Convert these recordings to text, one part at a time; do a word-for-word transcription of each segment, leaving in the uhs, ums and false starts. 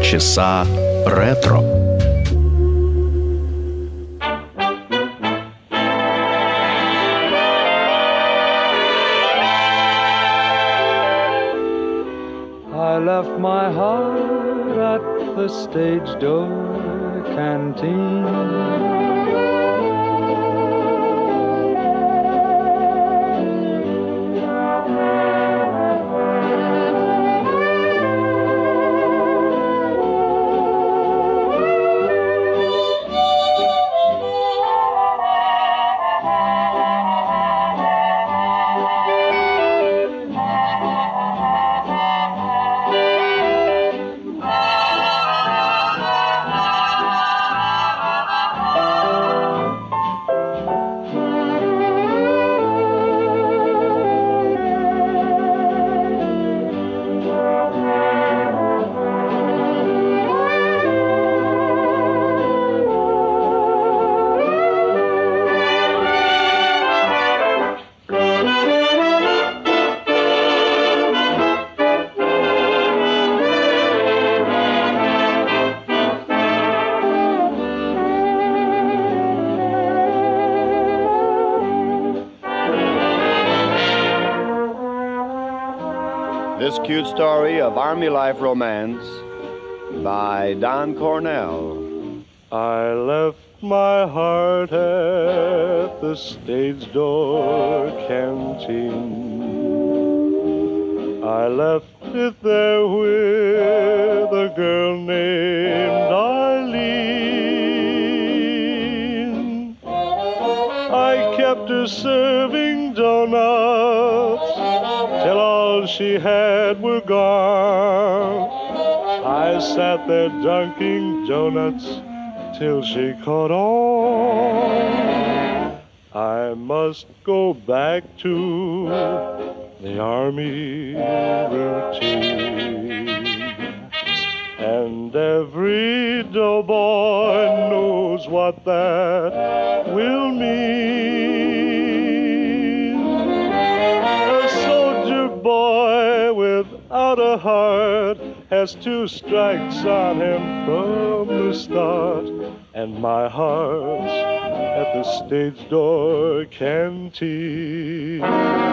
Полчаса ретро. I left my heart at the stage door canteen. This cute story of Army life romance by Don Cornell. I left my heart at the stage door canteen. I left it there with a girl named Eileen. I kept her serving donuts till all she had were gone. I sat there dunking donuts till she caught on. I must go back to the Army routine. And every doughboy knows what that will mean. A soldier boy without a heart has two strikes on him from the start. And my heart's at the stage door canteen.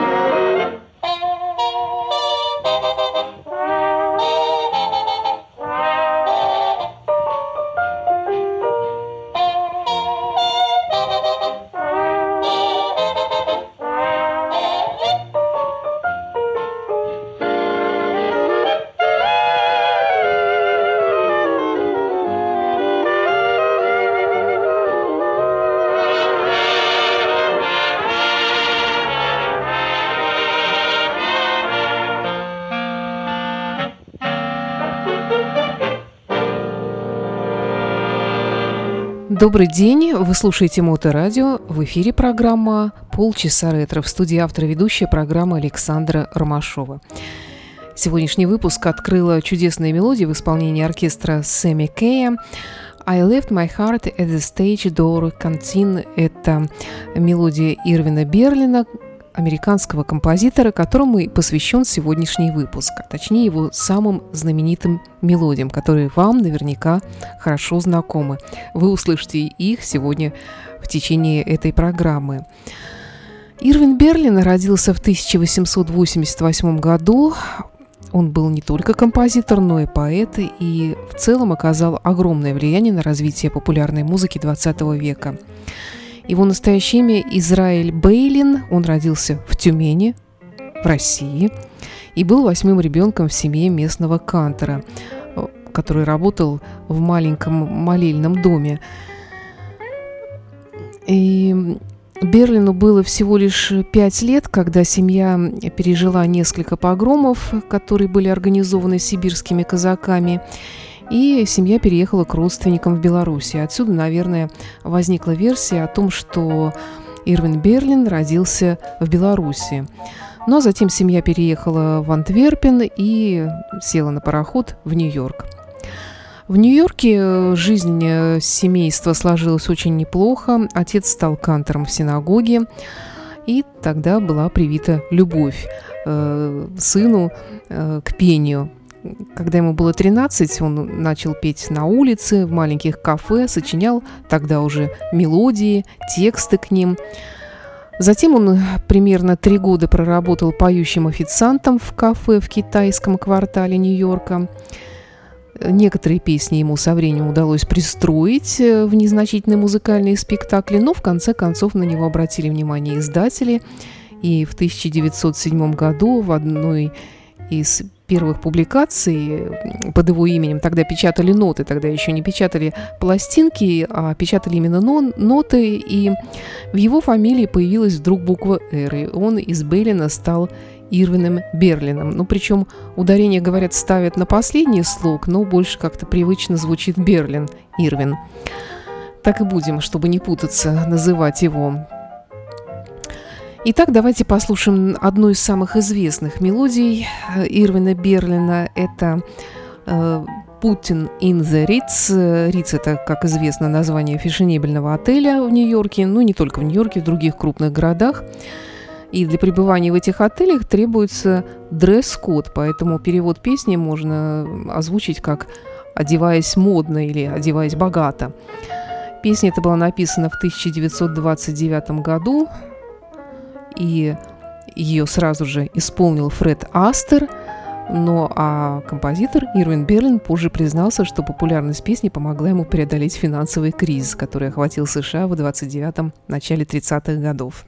Добрый день, вы слушаете Моторадио, в эфире программа «Полчаса ретро», в студии автора ведущая программы Александра Ромашова. Сегодняшний выпуск открыла чудесная мелодия в исполнении оркестра Сэмми Кэя. «I left my heart at the stage door canteen» – это мелодия Ирвина Берлина, американского композитора, которому и посвящен сегодняшний выпуск, а точнее его самым знаменитым мелодиям, которые вам наверняка хорошо знакомы. Вы услышите их сегодня в течение этой программы. Ирвин Берлин родился в тысяча восемьсот восемьдесят восьмом году. Он был не только композитор, но и поэт, и в целом оказал огромное влияние на развитие популярной музыки двадцатого века. Его настоящее имя Израиль Бейлин. Он родился в Тюмени, в России, и был восьмым ребенком в семье местного кантора, который работал в маленьком молельном доме. И Берлину было всего лишь пять лет, когда семья пережила несколько погромов, которые были организованы сибирскими казаками, и семья переехала к родственникам в Беларусь. Отсюда, наверное, возникла версия о том, что Ирвин Берлин родился в Беларуси. Ну а затем семья переехала в Антверпен и села на пароход в Нью-Йорк. В Нью-Йорке жизнь семейства сложилась очень неплохо. Отец стал кантором в синагоге, и тогда была привита любовь э, сыну э, к пению. Когда ему было тринадцать, он начал петь на улице, в маленьких кафе, сочинял тогда уже мелодии, тексты к ним. Затем он примерно три года проработал поющим официантом в кафе в китайском квартале Нью-Йорка. Некоторые песни ему со временем удалось пристроить в незначительные музыкальные спектакли, но в конце концов на него обратили внимание издатели. И в тысяча девятьсот седьмом году в одной из первых публикаций под его именем, тогда печатали ноты, тогда еще не печатали пластинки, а печатали именно ноты, и в его фамилии появилась вдруг буква «Р», и он из Берлина стал Ирвином Берлином. Ну, причем ударение, говорят, ставят на последний слог, но больше как-то привычно звучит Берлин, Ирвин. Так и будем, чтобы не путаться, называть его. Итак, давайте послушаем одну из самых известных мелодий Ирвина Берлина. Это «Puttin' in the Ritz». Ritz – это, как известно, название фешенебельного отеля в Нью-Йорке, ну, не только в Нью-Йорке, в других крупных городах. И для пребывания в этих отелях требуется дресс-код, поэтому перевод песни можно озвучить как «одеваясь модно» или «одеваясь богато». Песня эта была написана в тысяча девятьсот двадцать девятом году, и ее сразу же исполнил Фред Астер, но а композитор Ирвин Берлин позже признался, что популярность песни помогла ему преодолеть финансовый кризис, который охватил США в двадцать девятом – начале тридцатых годов.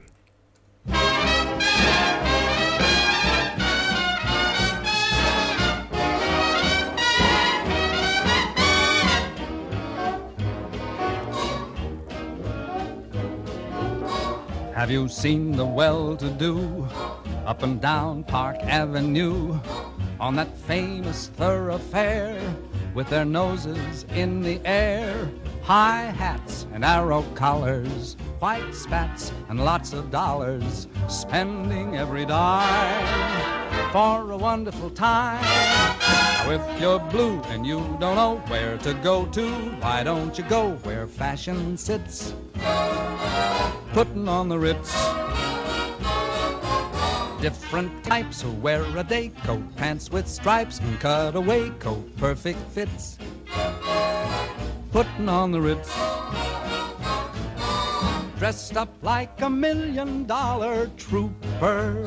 Have you seen the well-to-do up and down Park Avenue on that famous thoroughfare with their noses in the air? High hats and arrow collars, white spats and lots of dollars, spending every dime for a wonderful time. If you're blue and you don't know where to go to, why don't you go where fashion sits, putting on the Ritz. Different types who wear a day coat, pants with stripes and cutaway coat, perfect fits, putting on the Ritz. Dressed up like a million dollar trooper,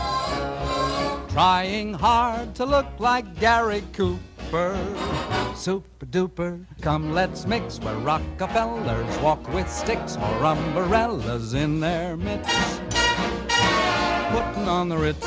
trying hard to look like Gary Cooper. Super duper, come let's mix where Rockefellers walk with sticks or umbrellas in their mitts, putting on the Ritz.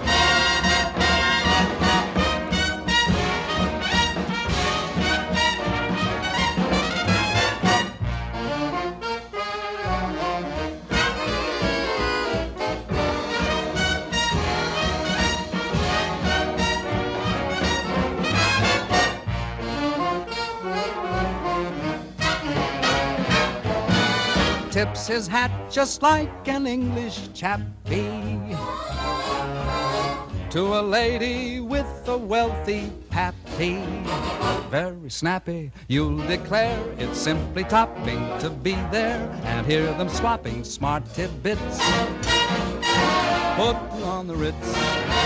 Tips his hat just like an English chappie to a lady with a wealthy pappy. Very snappy, you'll declare it's simply topping to be there and hear them swapping smart tidbits, putting on the Ritz.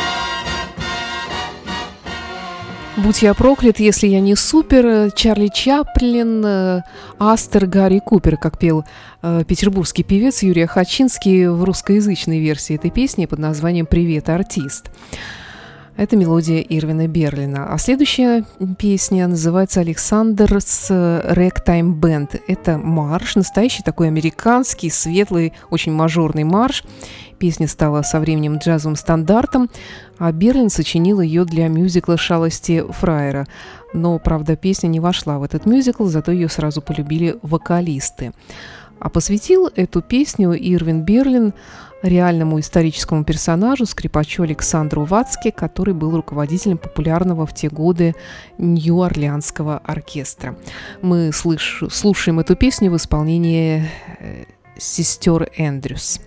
«Будь я проклят, если я не супер», Чарли Чаплин, Астер, Гарри Купер, как пел э, петербургский певец Юрий Хачинский в русскоязычной версии этой песни под названием «Привет, артист». Это мелодия Ирвина Берлина. А следующая песня называется «Александр's Ragtime Band». Это марш, настоящий такой американский, светлый, очень мажорный марш. Песня стала со временем джазовым стандартом, а Берлин сочинил ее для мюзикла «Шалости фраера». Но, правда, песня не вошла в этот мюзикл, зато ее сразу полюбили вокалисты. А посвятил эту песню Ирвин Берлин реальному историческому персонажу, скрипачу Александру Вацке, который был руководителем популярного в те годы Нью-Орлеанского оркестра. Мы слыш- слушаем эту песню в исполнении э, сестер Эндрюс.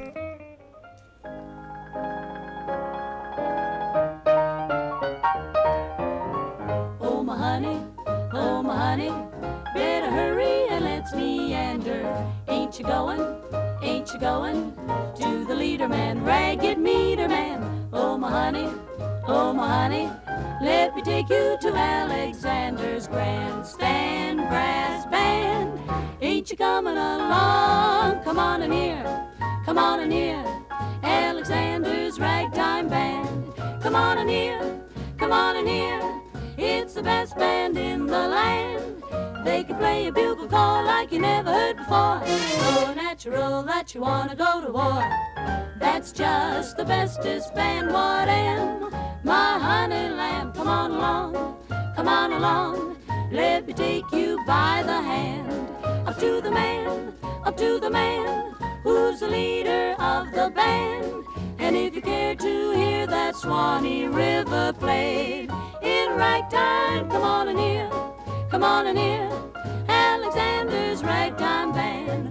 Ain't you going, ain't you going to the leader man, ragged meter man? Oh, my honey, oh, my honey, let me take you to Alexander's Grandstand Brass Band. Ain't you coming along? Come on in here, come on in here, Alexander's Ragtime Band. Come on in here, come on in here, it's the best band in the land. They can play a bugle call like you never heard before. So natural that you wanna go to war. That's just the bestest band what am. My honey lamb, come on along, come on along. Let me take you by the hand. Up to the man, up to the man, who's the leader of the band. And if you care to hear that Swanee River played in ragtime, come on in here, come on in here, Alexander's Ragtime Band.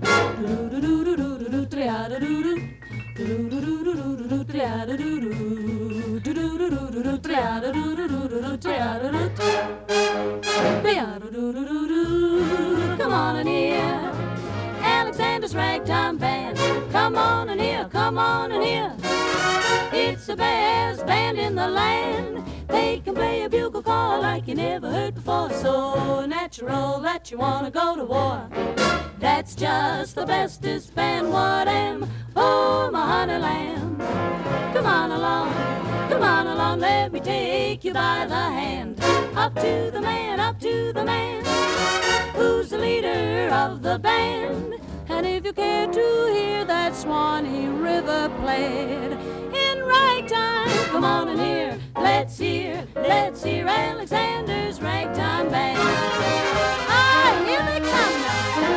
Come on in here, Alexander's Ragtime Band. Come on in here, come on in here, it's the best band in the land. They can play a bugle call like you never heard before. So natural that you wanna go to war. That's just the bestest band what am. Oh, my honey lamb, come on along, come on along. Let me take you by the hand. Up to the man, up to the man, who's the leader of the band. And if you care to hear that Swanee River played in ragtime, come on in here, let's hear, let's hear Alexander's Ragtime Band. Ah, here they come now.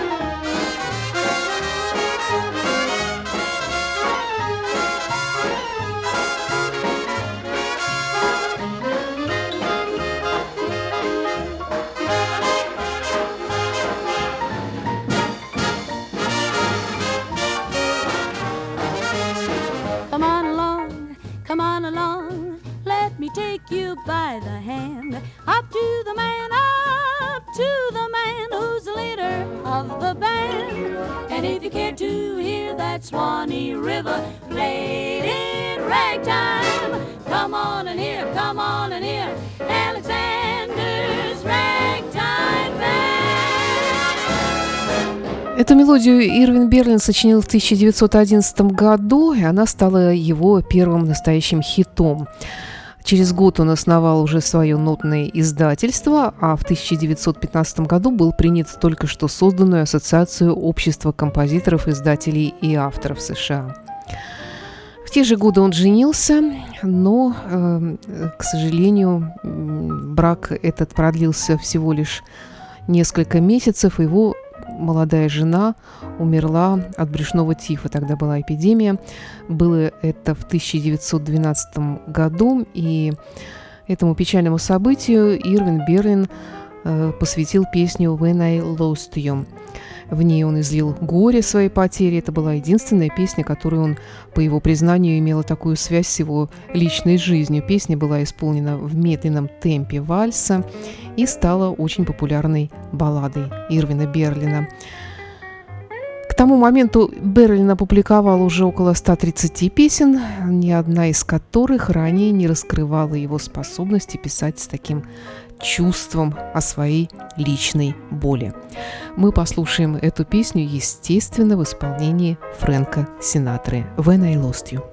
Come on along, let me take you by the hand. Up to the man, up to the man, who's the leader of the band. And if you care to hear that Swanee River played in ragtime, come on and hear, come on and hear Alexander's Ragtime Band. Эту мелодию Ирвин Берлин сочинил в тысяча девятьсот одиннадцатом году, и она стала его первым настоящим хитом. Через год он основал уже свое нотное издательство, а в тысяча девятьсот пятнадцатом году был принят в только что созданную Ассоциацию общества композиторов, издателей и авторов США. В те же годы он женился, но, э, к сожалению, брак этот продлился всего лишь несколько месяцев. Его молодая жена умерла от брюшного тифа. Тогда была эпидемия. Было это в тысяча девятьсот двенадцатом году. И этому печальному событию Ирвин Берлин э, посвятил песню «When I Lost You». В ней он излил горе своей потери. Это была единственная песня, которую он, по его признанию, имела такую связь с его личной жизнью. Песня была исполнена в медленном темпе вальса и стала очень популярной балладой Ирвина Берлина. К тому моменту Берлин опубликовал уже около ста тридцати песен, ни одна из которых ранее не раскрывала его способности писать с таким чувством о своей личной боли. Мы послушаем эту песню, естественно, в исполнении Фрэнка Синатры «When I Lost You».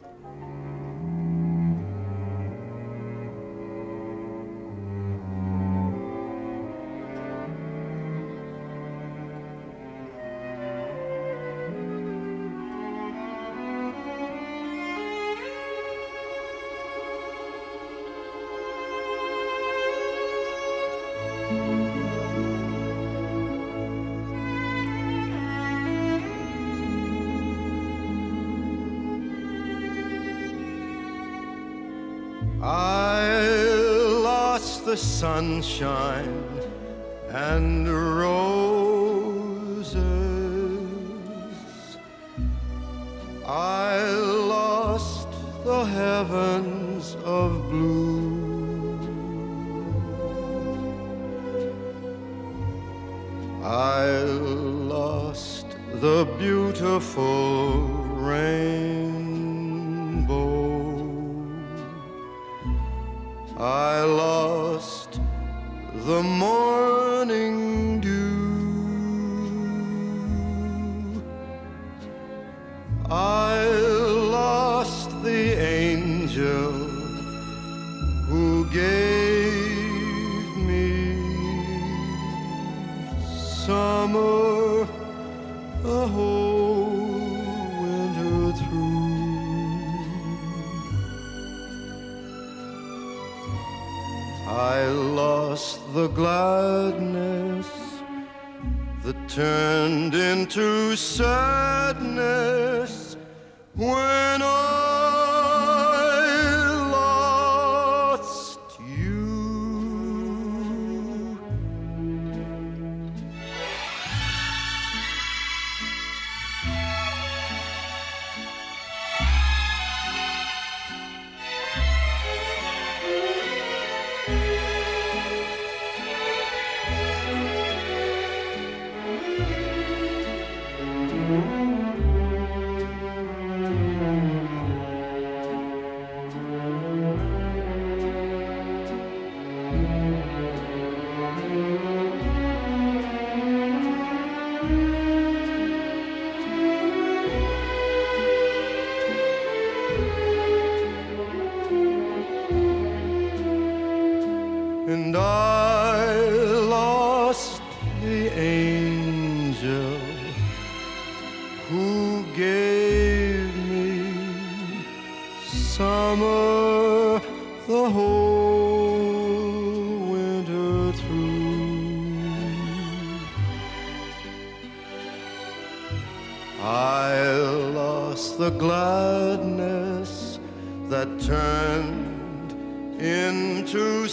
The sunshine and roses, I lost the heavens of blue, I lost the beautiful rainbow. I lost the morning dew. I lost the angel who gave me summer the whole winter through. I lost the gladness that turned into sadness when I lost you. And I lost the angel who gave me summer the whole winter through. I lost the gladness that turned into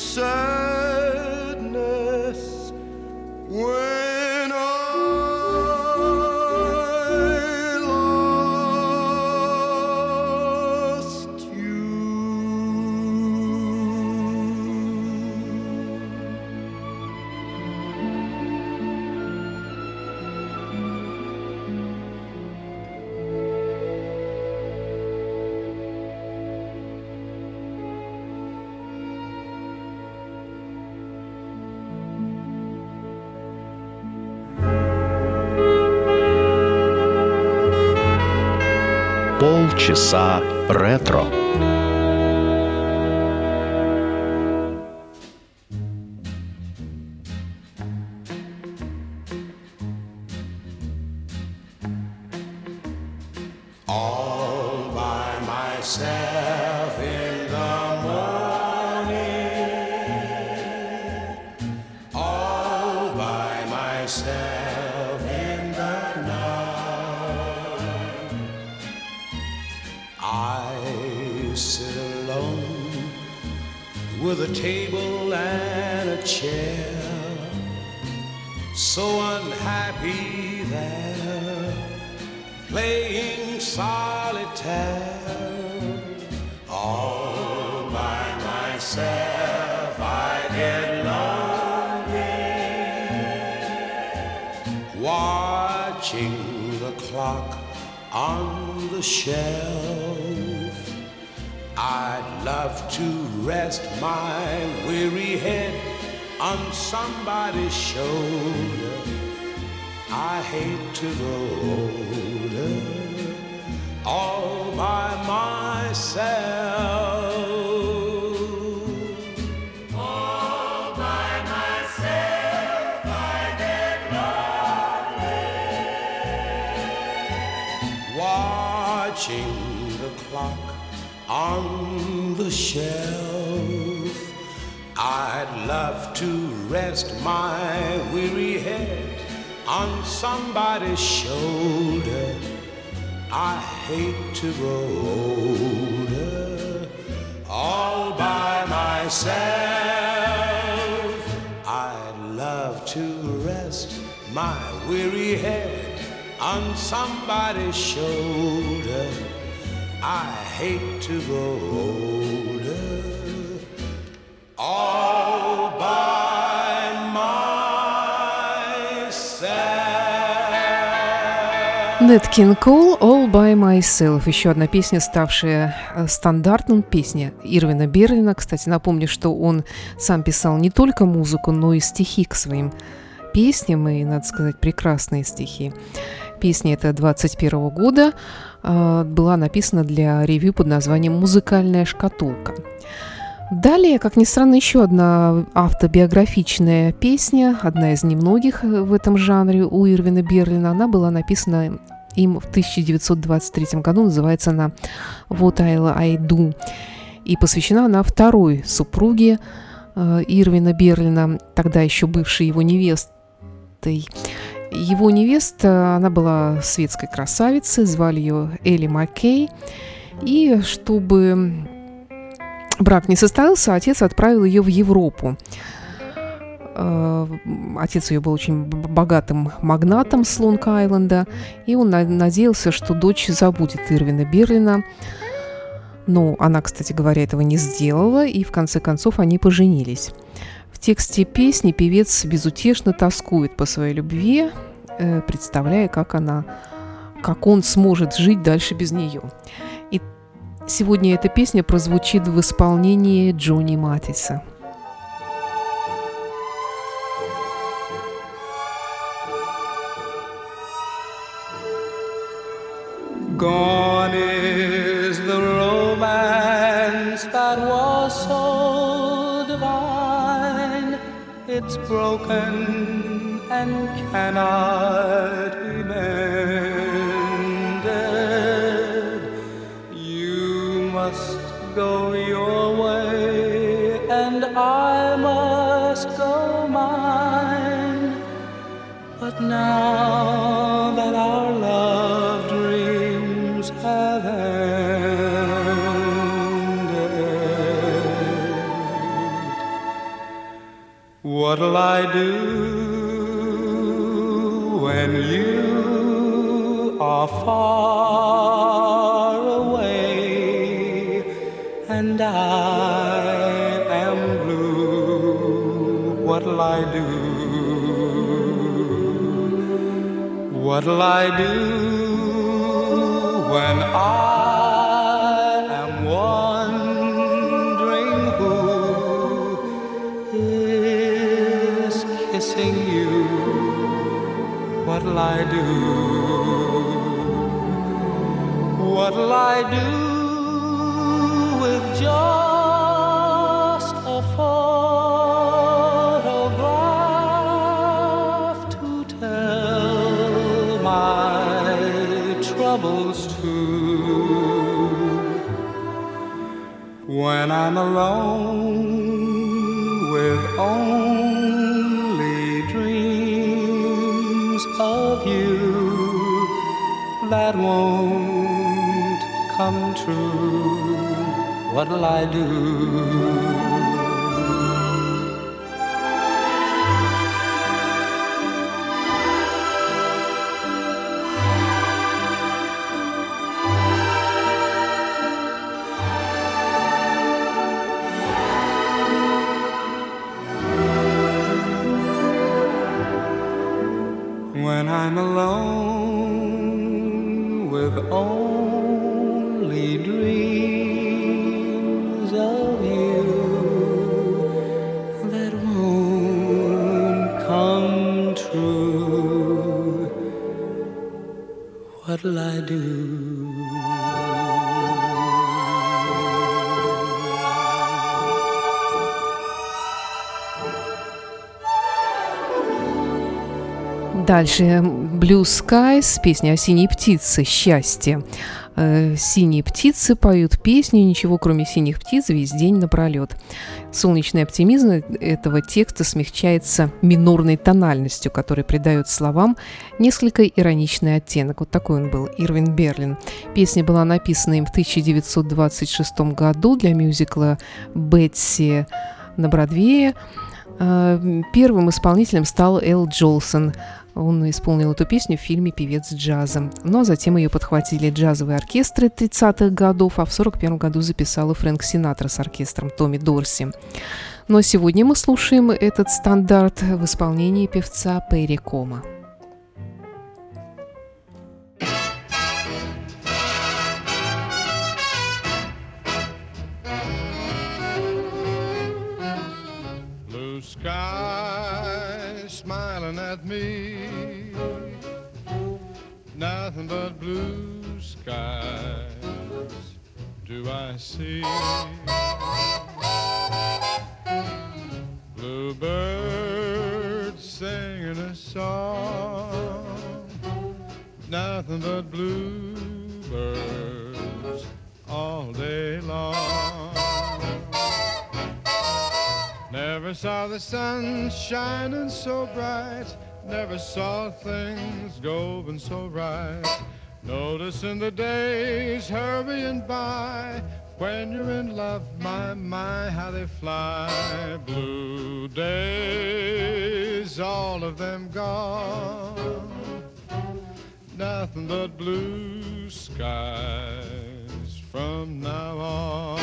sadness when I lost you. Полчаса ретро. All by myself in the morning, all by myself in the night. I sit alone with a table and a chair, so unhappy there, playing solitaire. All by myself I get lonely, watching the clock on the shelf. I'd love to rest my weary head on somebody's shoulder. I hate to grow older all by myself. All by myself I get lonely, watching the clock on the shelf. I'd love to rest my weary head on somebody's shoulder. I hate to grow older all by myself. I'd love to rest my weary head on somebody's shoulder. I hate to grow older all by myself. Nat King Cole «All by Myself». Еще одна песня, ставшая стандартом. Песня Ирвина Берлина. Кстати, напомню, что он сам писал не только музыку, но и стихи к своим песням. И, надо сказать, прекрасные стихи. Песня эта двадцать первого года была написана для ревью под названием «Музыкальная шкатулка». Далее, как ни странно, еще одна автобиографичная песня, одна из немногих в этом жанре у Ирвина Берлина. Она была написана им в тысяча девятьсот двадцать третьем году, называется она «What I'll I Do». И посвящена она второй супруге э, Ирвина Берлина, тогда еще бывшей его невестой. Его невеста, она была светской красавицей, звали ее Элли Маккей. И чтобы брак не состоялся, отец отправил ее в Европу. Отец ее был очень богатым магнатом с Лонг-Айленда, и он надеялся, что дочь забудет Ирвина Берлина. Но она, кстати говоря, этого не сделала, и в конце концов они поженились. В тексте песни певец безутешно тоскует по своей любви, представляя, как она, как он сможет жить дальше без нее. И сегодня эта песня прозвучит в исполнении Джонни Матиса. Gone is the romance that was so divine. It's broken and cannot be mended. You must go your way and I must go mine. But now that our love dreams have ended, what'll I do when you are far away and I am blue? What'll I do? What'll I do when I am wondering who is kissing you? What'll I do? What'll I do with just a photograph to tell my troubles too? When I'm alone with only dreams of you that won't come true, what'll I do? When I'm alone with only dreams of you that won't come true, what'll I do? Дальше Blue Skies, песня о синей птице, счастье. Э, синие птицы поют песню, ничего кроме синих птиц весь день напролет. Солнечный оптимизм этого текста смягчается минорной тональностью, которая придает словам несколько ироничный оттенок. Вот такой он был, Ирвин Берлин. Песня была написана им в тысяча девятьсот двадцать шестом году для мюзикла «Бетси» на Бродвее. Первым исполнителем стал Эл Джолсон. Он исполнил эту песню в фильме «Певец джаза». Ну а затем ее подхватили джазовые оркестры тридцатых годов, а в сорок первом году записала Фрэнк Синатра с оркестром Томми Дорси. Но сегодня мы слушаем этот стандарт в исполнении певца Перри Кома. sky smiling at me, nothing but blue skies do I see. Bluebirds singing a song, nothing but bluebirds all day long. Never saw the sun shining so bright, never saw things going so right. Noticing the days hurrying by, when you're in love, my, my, how they fly. Blue days, all of them gone, nothing but blue skies from now on.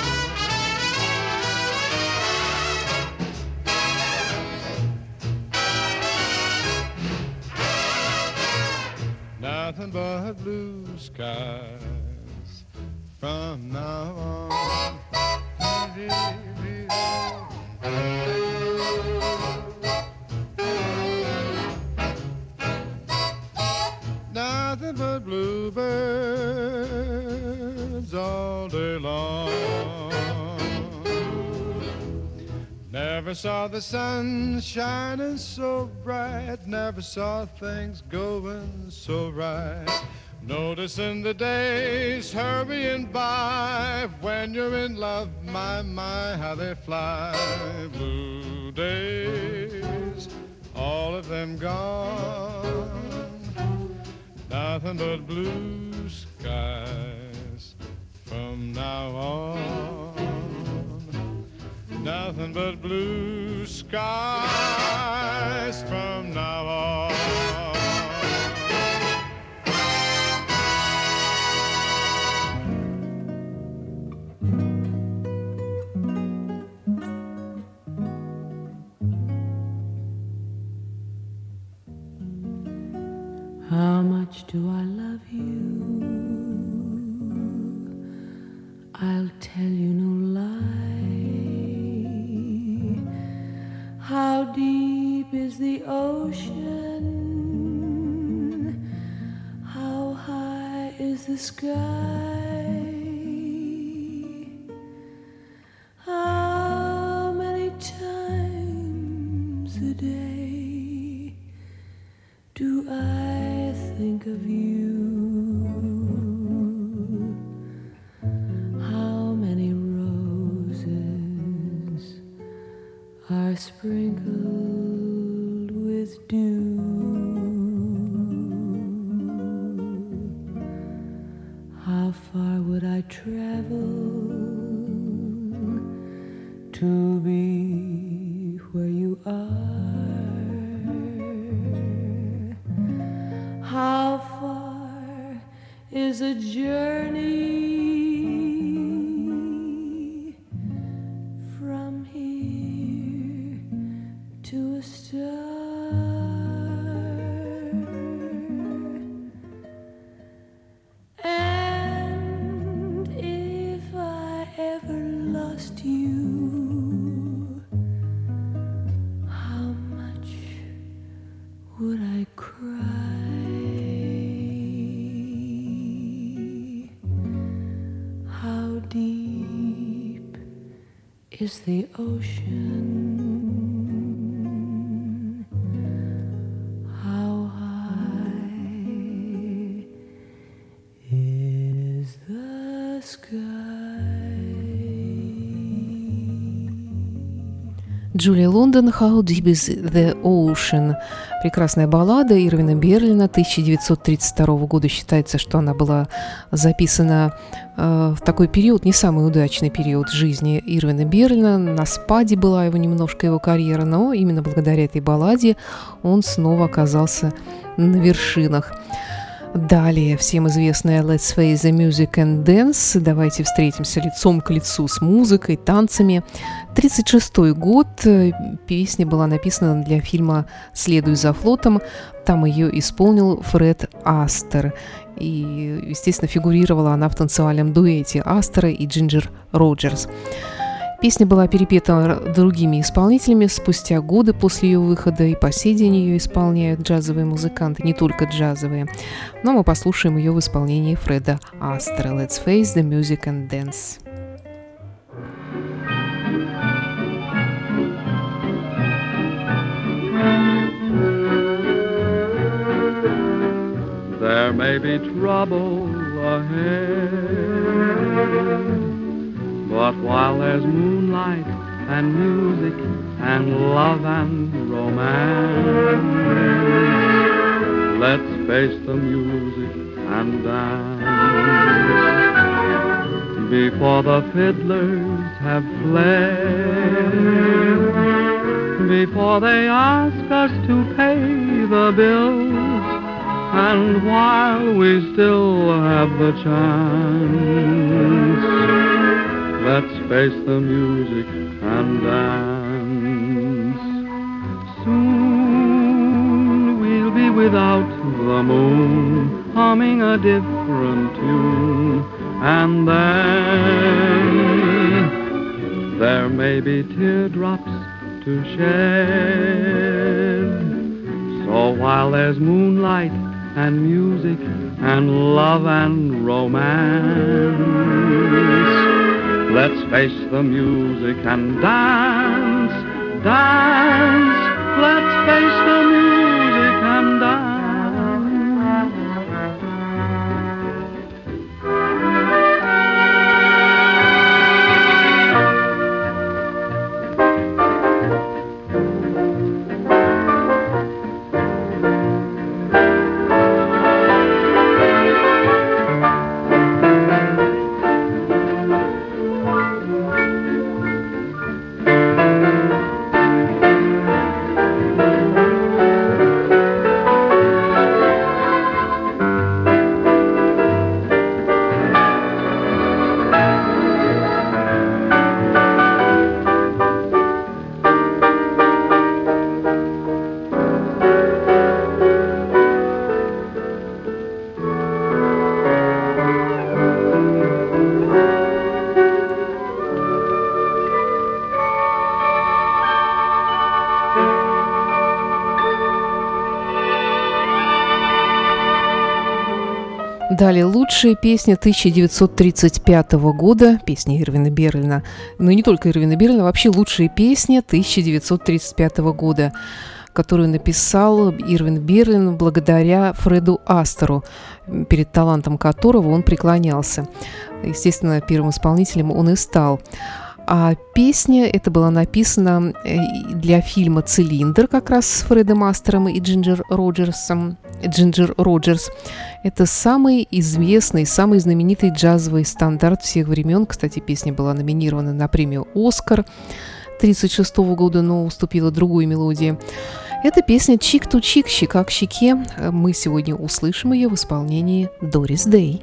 Nothing but blue skies from now on. Nothing but bluebirds all day long. Never saw the sun shining so bright, never saw things going so right. Noticing the days hurrying by, when you're in love, my, my, how they fly. Blue days, all of them gone, nothing but blue skies from now on. Nothing but blue skies from now on. How much do I love you? I'll tell you no lie. How deep is the ocean? How high is the sky? How many times a day do I think of you? How many roses are sprinkled with dew? How far would I travel to be where you are? How far is a journey from here to a star? And if I ever lost you, how much would I cry? How deep is the ocean? How high is the sky? Джулия Лондон «How Deep is the Ocean». Прекрасная баллада Ирвина Берлина тысяча девятьсот тридцать второго года. Считается, что она была записана э, в такой период, не самый удачный период жизни Ирвина Берлина. На спаде была его немножко его карьера, но именно благодаря этой балладе он снова оказался на вершинах. Далее всем известная «Let's Face the Music and Dance». Давайте встретимся лицом к лицу с музыкой, танцами. тридцать шестой год. Песня была написана для фильма «Следуй за флотом». Там ее исполнил Фред Астер. И, естественно, фигурировала она в танцевальном дуэте Астера и Джинджер Роджерс. Песня была перепета другими исполнителями спустя годы после ее выхода, и по сей день ее исполняют джазовые музыканты, не только джазовые. Но мы послушаем ее в исполнении Фреда Астера. Let's face the music and dance. There may be trouble ahead, but while there's moonlight and music and love and romance, let's face the music and dance. Before the fiddlers have fled, before they ask us to pay the bills, and while we still have the chance, let's face the music and dance. Soon we'll be without the moon, humming a different tune, and then there may be teardrops to shed. So while there's moonlight and music and love and romance, let's face the music and dance, dance. Let's face the music and dance. Далее лучшие песни тысяча девятьсот тридцать пятого года, песни Ирвина Берлина, но не только Ирвина Берлина, вообще лучшие песни тысяча девятьсот тридцать пятого года, которую написал Ирвин Берлин благодаря Фреду Астеру, перед талантом которого он преклонялся. Естественно, первым исполнителем он и стал. А песня эта была написана для фильма «Цилиндр», как раз с Фредом Астером и Джинджер Роджерсом. Джинджер Роджерс. Это самый известный, самый знаменитый джазовый стандарт всех времен. Кстати, песня была номинирована на премию «Оскар» тысяча девятьсот тридцать шестого года, но уступила другой мелодии. Это песня «Чик-ту-чик», «Щека к щеке». Мы сегодня услышим ее в исполнении Дорис Дэй.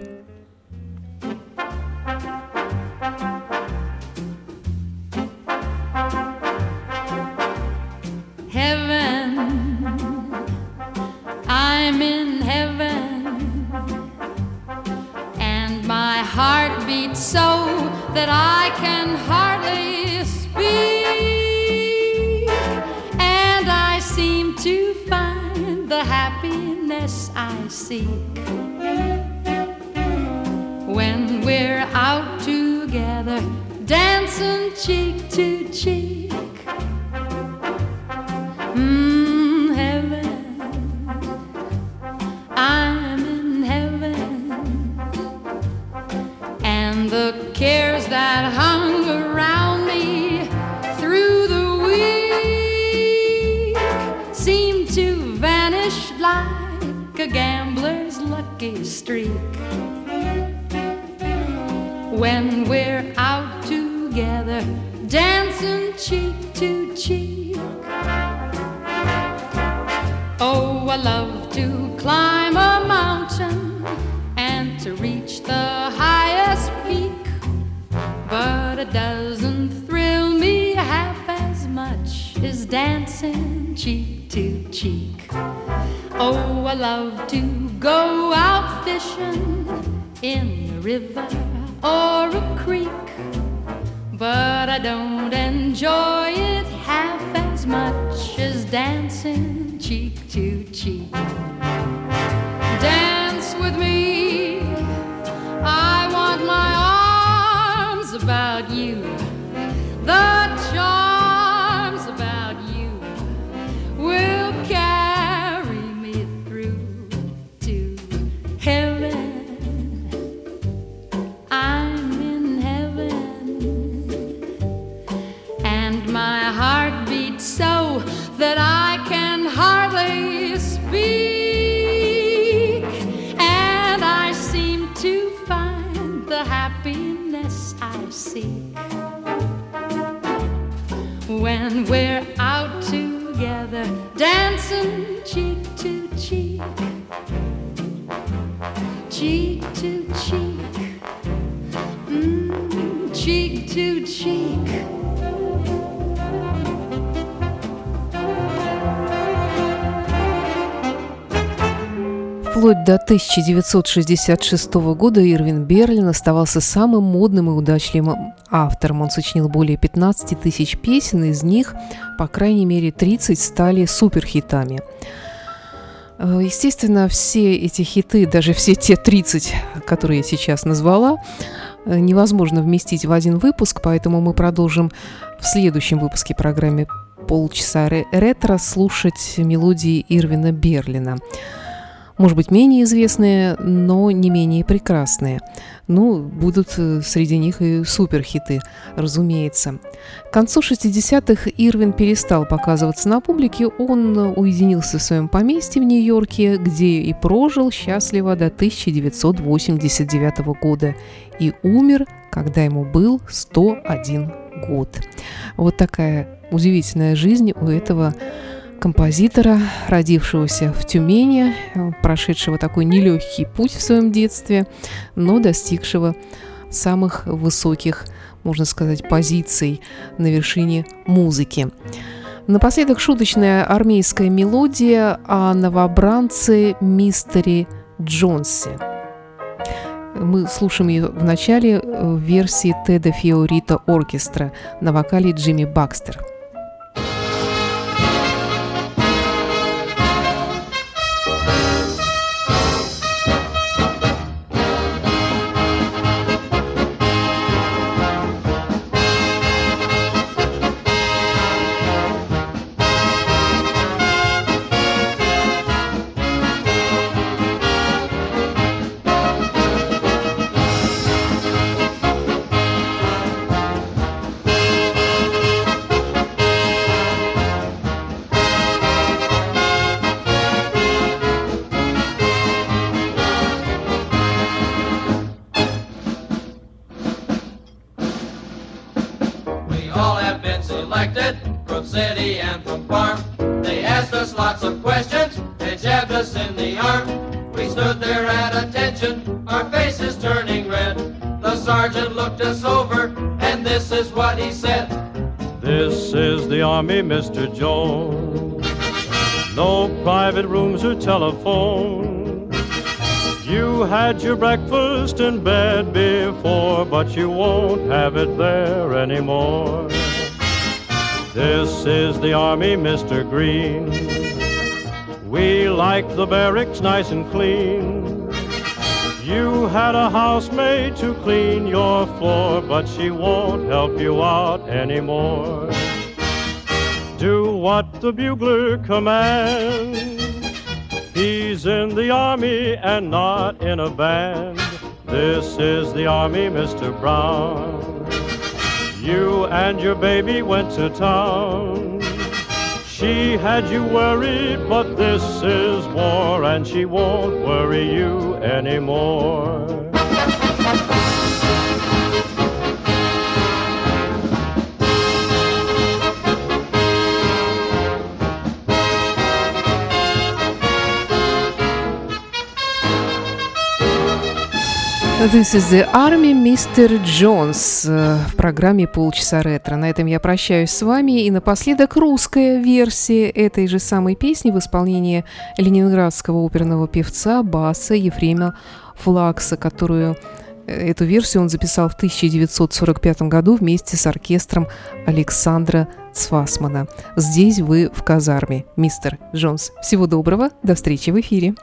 I'm in heaven, and my heart beats so that I can hardly speak, and I seem to find the happiness I seek when we're out together, dancing cheek to cheek. Mm, heaven, I'm in heaven, and the cares that hung around me through the week seem to vanish like a gambler's lucky streak when we're out together, dancing cheek to cheek. Oh, I love to climb a mountain and to reach the highest peak, but it doesn't thrill me half as much as dancing cheek to cheek. Oh, I love to go out fishing in a river or a creek, but I don't enjoy it half as much as dancing cheek to cheek. Dance with me, I want my arms about you, the charms about you will carry me through to heaven. I'm in heaven, and my heart beats so that I can hardly speak, and I seem to find the happiness I seek when we're out together, dancing cheek to cheek, cheek to cheek, mm, cheek to cheek. Вплоть до тысяча девятьсот шестьдесят шестого года Ирвин Берлин оставался самым модным и удачливым автором. Он сочинил более пятнадцати тысяч песен, из них, по крайней мере, тридцать стали суперхитами. Естественно, все эти хиты, даже все те тридцать, которые я сейчас назвала, невозможно вместить в один выпуск, поэтому мы продолжим в следующем выпуске программы «Полчаса ретро» слушать мелодии Ирвина Берлина. Может быть, менее известные, но не менее прекрасные. Ну, будут среди них и суперхиты, разумеется. К концу шестидесятых Ирвин перестал показываться на публике. Он уединился в своем поместье в Нью-Йорке, где и прожил счастливо до тысяча девятьсот восемьдесят девятого года. И умер, когда ему был сто один год. Вот такая удивительная жизнь у этого композитора, родившегося в Тюмени, прошедшего такой нелегкий путь в своем детстве, но достигшего самых высоких, можно сказать, позиций на вершине музыки. Напоследок шуточная армейская мелодия о новобранце мистере Джонсе. Мы слушаем ее в начале в версии Теда Фиорита Оркестра на вокале Джимми Бакстер. City and from farm. They asked us lots of questions, they jabbed us in the arm. We stood there at attention, our faces turning red. The sergeant looked us over, and this is what he said. This is the Army, Mister Jones. No private rooms or telephone. You had your breakfast in bed before, but you won't have it there anymore. This is the Army, Mister Green. We like the barracks nice and clean. You had a housemaid to clean your floor, but she won't help you out anymore. Do what the bugler commands. He's in the Army and not in a band. This is the Army, Mister Brown. You and your baby went to town. She had you worried, but this is war, and she won't worry you anymore. This is the Army, мистер Джонс в программе «Полчаса ретро». На этом я прощаюсь с вами. И напоследок русская версия этой же самой песни в исполнении ленинградского оперного певца Баса Ефрема Флакса, которую Эту версию он записал в тысяча девятьсот сорок пятом году вместе с оркестром Александра Цвасмана. Здесь вы в казарме, мистер Джонс. Всего доброго, до встречи в эфире.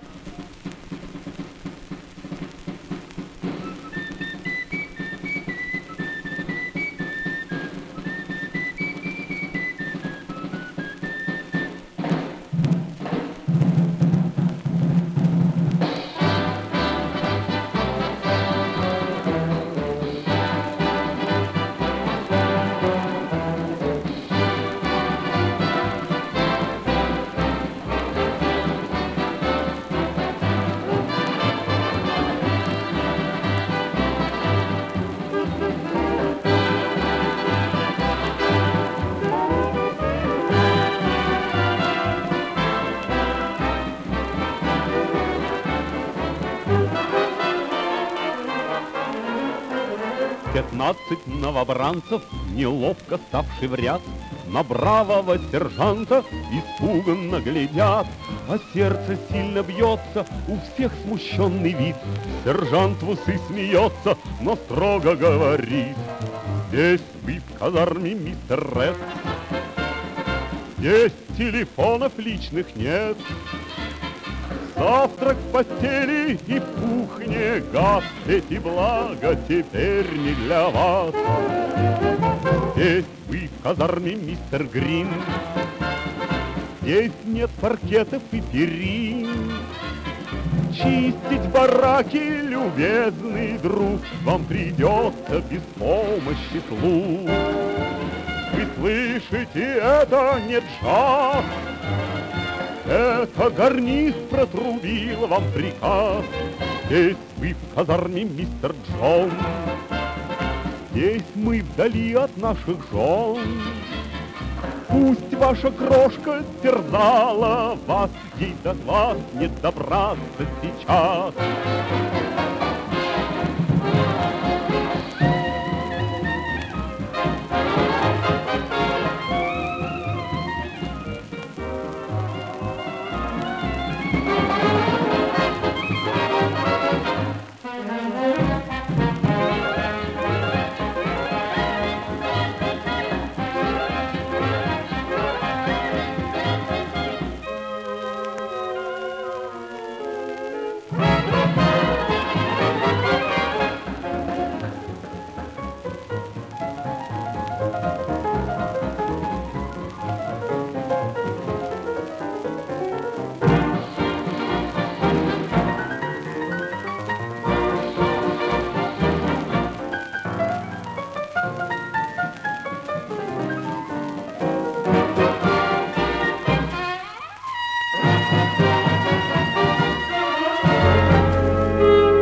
Пятнадцать новобранцев, неловко ставший в ряд, на бравого сержанта испуганно глядят, а сердце сильно бьется, у всех смущенный вид. Сержант в усы смеется, но строго говорит: здесь вы в казарме, мистер Ред, здесь телефонов личных нет. Завтрак в постели и в кухне газ, эти блага теперь не для вас. Здесь вы в казарме, мистер Грин, здесь нет паркетов и перин. Чистить бараки, любезный друг, вам придется без помощи слуг. Вы слышите, это не джаз, это гарнист протрубил вам приказ. Здесь вы в казарме, мистер Джон, здесь мы вдали от наших жен. Пусть ваша крошка терзала вас, ей до вас не добраться сейчас.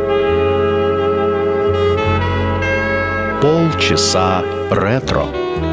Полчаса ретро.